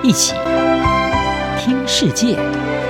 一起聽世界。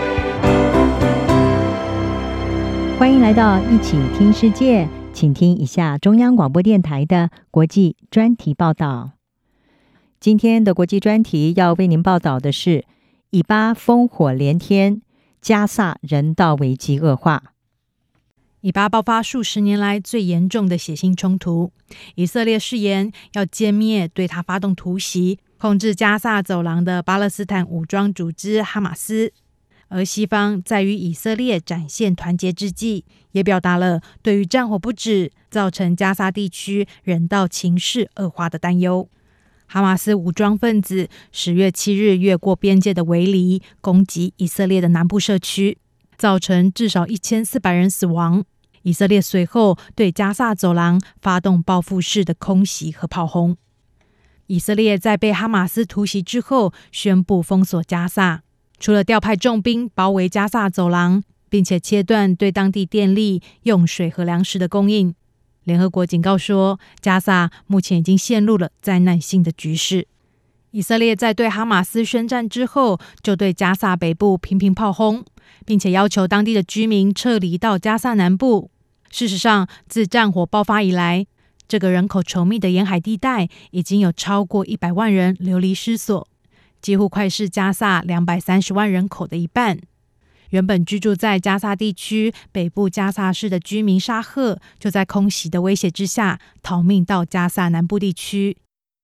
歡迎來到一起聽世界，請聽一下中央廣播電台的國際專題報道。今天的國際專題要為您報道的是：以巴烽火連天，加薩人道危機惡化。 以巴爆發數十年來最嚴重的血腥衝突，以色列誓言要殲滅對他發動突襲、控制加薩走廊的巴勒斯坦武裝組織哈馬斯，而西方在與以色列展現團結之際，也表達了對於戰火不止、造成加薩地區人道情勢惡化的擔憂。哈馬斯武裝分子10月7日越過邊界的圍籬，攻擊以色列的南部社區，造成至少1400人死亡。以色列隨後對加薩走廊發動報復式的空襲和炮轟。以色列在被哈馬斯突襲之後，宣布封鎖加薩，除了調派重兵包圍加薩走廊，並且切斷對當地電力、用水和糧食的供應。聯合國警告說，加薩目前已經陷入了災難性的局勢。以色列在對哈馬斯宣戰之後，就對加薩北部頻頻炮轟，並且要求當地的居民撤離到加薩南部。事實上，自戰火爆發以來，這個人口稠密的沿海地帶已經有超過100萬人流離失所，幾乎快是加薩230萬人口的一半。原本居住在加薩地區北部加薩市的居民沙赫，就在空襲的威脅之下逃命到加薩南部地區。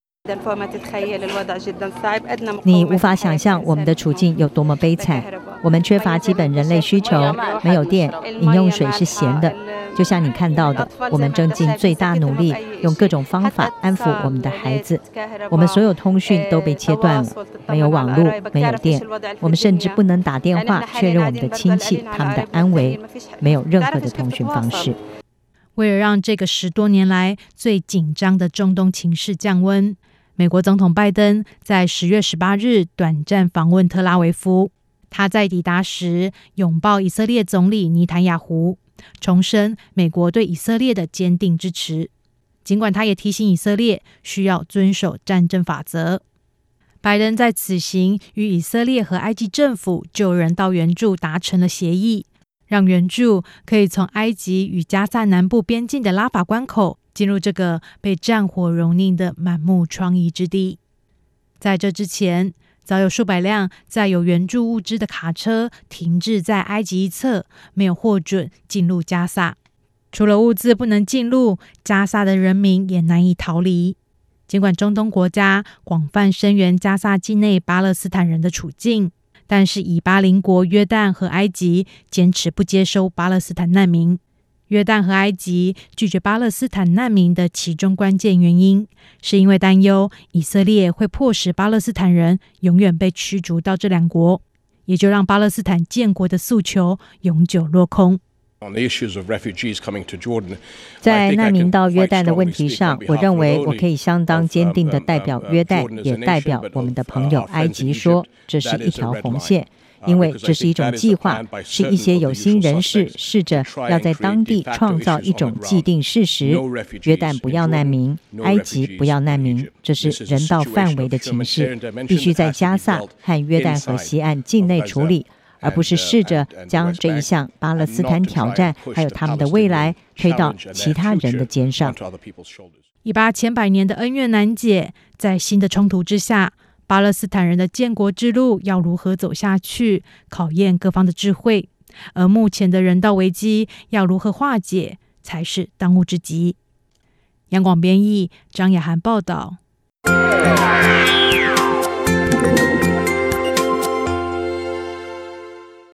你無法想象我們的處境有多麼悲慘。我們缺乏基本人類需求，沒有電，飲用水是鹹的。就像你看到的，我們正盡最大努力，用各種方法安撫我們的孩子。我們所有通訊都被切斷了，沒有網絡，沒有電。我們甚至不能打電話確認我們的親戚他們的安危，沒有任何的通訊方式。 為了讓這個10多年來最緊張的中東情勢降溫，美國總統拜登在10月18日短暫訪問特拉維夫。他在抵達時擁抱以色列總理尼坦雅胡，重申美國對以色列的堅定支持。儘管他也提醒以色列需要遵守戰爭法則。拜登在此行與以色列和埃及政府就人道援助達成了協議，讓援助可以從埃及與加薩南部邊境的拉法關口進入這個被戰火蹂躪的滿目瘡痍之地。在這之前，早有數百輛載有援助物資的卡車停滯在埃及一側，沒有獲准進入加薩。除了物資不能進入，加薩的人民也難以逃離。儘管中東國家廣泛聲援加薩境內巴勒斯坦人的處境，但是以巴鄰國約旦和埃及堅持不接收巴勒斯坦難民。約旦和埃及拒絕巴勒斯坦難民的其中關鍵原因，是因為擔憂以色列會迫使巴勒斯坦人永遠被驅逐到這兩國，也就讓巴勒斯坦建國的訴求永久落空。 在難民到約旦的問題上，我認為我可以相當堅定地代表約旦，也代表我們的朋友埃及說，這是一條紅線。因為這是一種計劃，是一些有心人士試着要在當地創造一種既定事實：約旦不要難民，埃及不要難民，這是人道範圍的情勢，必須在加薩和約旦河西岸境內處理，而不是試着將這一項巴勒斯坦挑戰還有他們的未來推到其他人的肩上。 以巴千百年的恩怨難解，在新的衝突之下，巴勒斯坦人的建國之路要如何走下去，考驗各方的智慧，而目前的人道危機要如何化解，才是當務之急。央廣編譯，張雅涵報道。